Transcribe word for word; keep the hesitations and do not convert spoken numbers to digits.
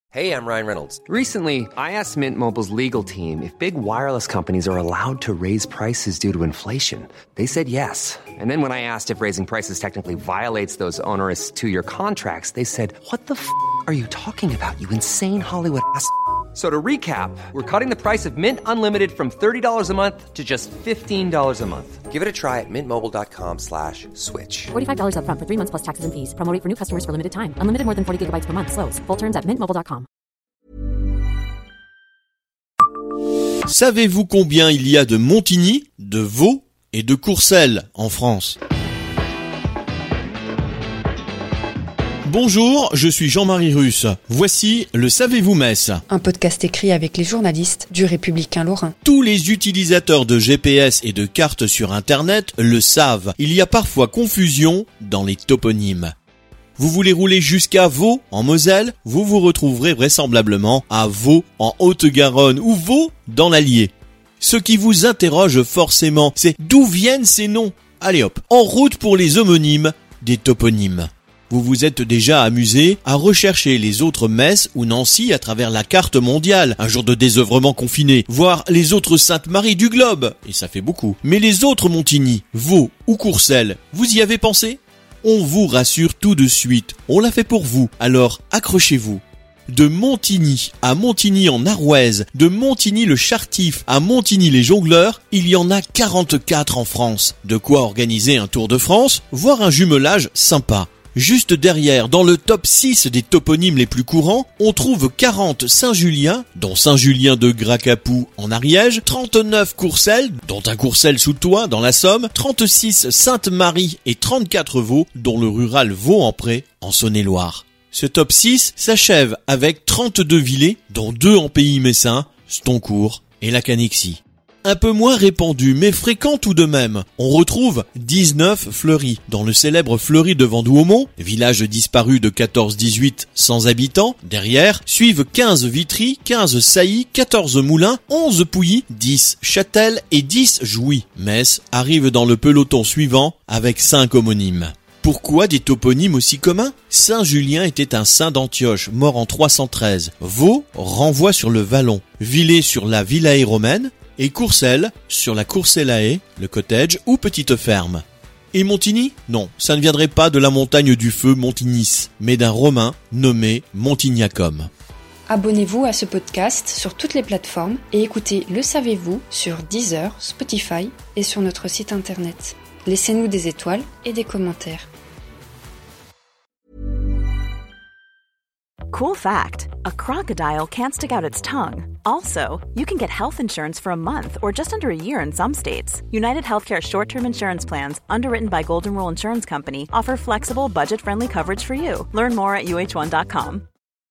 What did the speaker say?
Hey, I'm Ryan Reynolds. Recently, I asked Mint Mobile's legal team if big wireless companies are allowed to raise prices due to inflation. They said yes. And then when I asked if raising prices technically violates those onerous two-year contracts, they said, what the f*** are you talking about, you insane Hollywood ass f- So to recap, we're cutting the price of Mint Unlimited from thirty dollars a month to just fifteen dollars a month. Give it a try at mintmobile.com slash switch. forty-five dollars up front for three months plus taxes and fees. Promo rate for new customers for limited time. Unlimited more than forty gigabytes per month. Slows full terms at mint mobile dot com. Savez-vous combien il y a de Montigny, de Vaud et de Courcelles en France ? Bonjour, je suis Jean-Marie Russe. Voici le Savez-vous Metz ? Un podcast écrit avec les journalistes du Républicain Lorrain. Tous les utilisateurs de G P S et de cartes sur Internet le savent. Il y a parfois confusion dans les toponymes. Vous voulez rouler jusqu'à Vaud, en Moselle, vous vous retrouverez vraisemblablement à Vaud, en Haute-Garonne, ou Vaud, dans l'Allier. Ce qui vous interroge forcément, c'est d'où viennent ces noms ? Allez hop, en route pour les homonymes des toponymes. Vous vous êtes déjà amusé à rechercher les autres Metz ou Nancy à travers la carte mondiale, un jour de désœuvrement confiné, voir les autres Sainte-Marie du globe, et ça fait beaucoup. Mais les autres Montigny, Vaud ou Courcelles, vous y avez pensé ? On vous rassure tout de suite, on l'a fait pour vous, alors accrochez-vous. De Montigny à Montigny en Arrouaise, de Montigny le Chartif à Montigny les Jongleurs, il y en a quarante-quatre en France. De quoi organiser un tour de France, voire un jumelage sympa. Juste derrière, dans le top six des toponymes les plus courants, on trouve quarante Saint-Julien, dont Saint-Julien de Gracapou en Ariège, trente-neuf Courcelles, dont un Courcelles sous Toin dans la Somme, trente-six Sainte-Marie et trente-quatre Vaud, dont le rural Vaux-en-Pré en Saône-et-Loire. Ce top six s'achève avec trente-deux Villers, dont deux en Pays Messin, Stoncourt et la Canexie. Un peu moins répandu, mais fréquent tout de même. On retrouve dix-neuf Fleury, dans le célèbre Fleury de Vendouaumont, village disparu de quatorze dix-huit sans habitants. Derrière, suivent quinze Vitry, quinze Sailly, quatorze Moulins, onze Pouilly, dix Châtel et dix Jouy. Metz arrive dans le peloton suivant avec cinq homonymes. Pourquoi des toponymes aussi communs ? Saint-Julien était un saint d'Antioche, mort en trois cent treize. Vaud renvoie sur le Vallon. Villers sur la Villae romaine. Et Courcelles, sur la Courcellae, le cottage ou petite ferme. Et Montigny ? Non, ça ne viendrait pas de la montagne du feu Montignis, mais d'un Romain nommé Montignacum. Abonnez-vous à ce podcast sur toutes les plateformes et écoutez Le Savez-vous sur Deezer, Spotify et sur notre site internet. Laissez-nous des étoiles et des commentaires. Cool fact, a crocodile can't stick out its tongue. Also, you can get health insurance for a month or just under a year in some states. United Healthcare short-term insurance plans, underwritten by Golden Rule Insurance Company, offer flexible, budget-friendly coverage for you. Learn more at U H one dot com.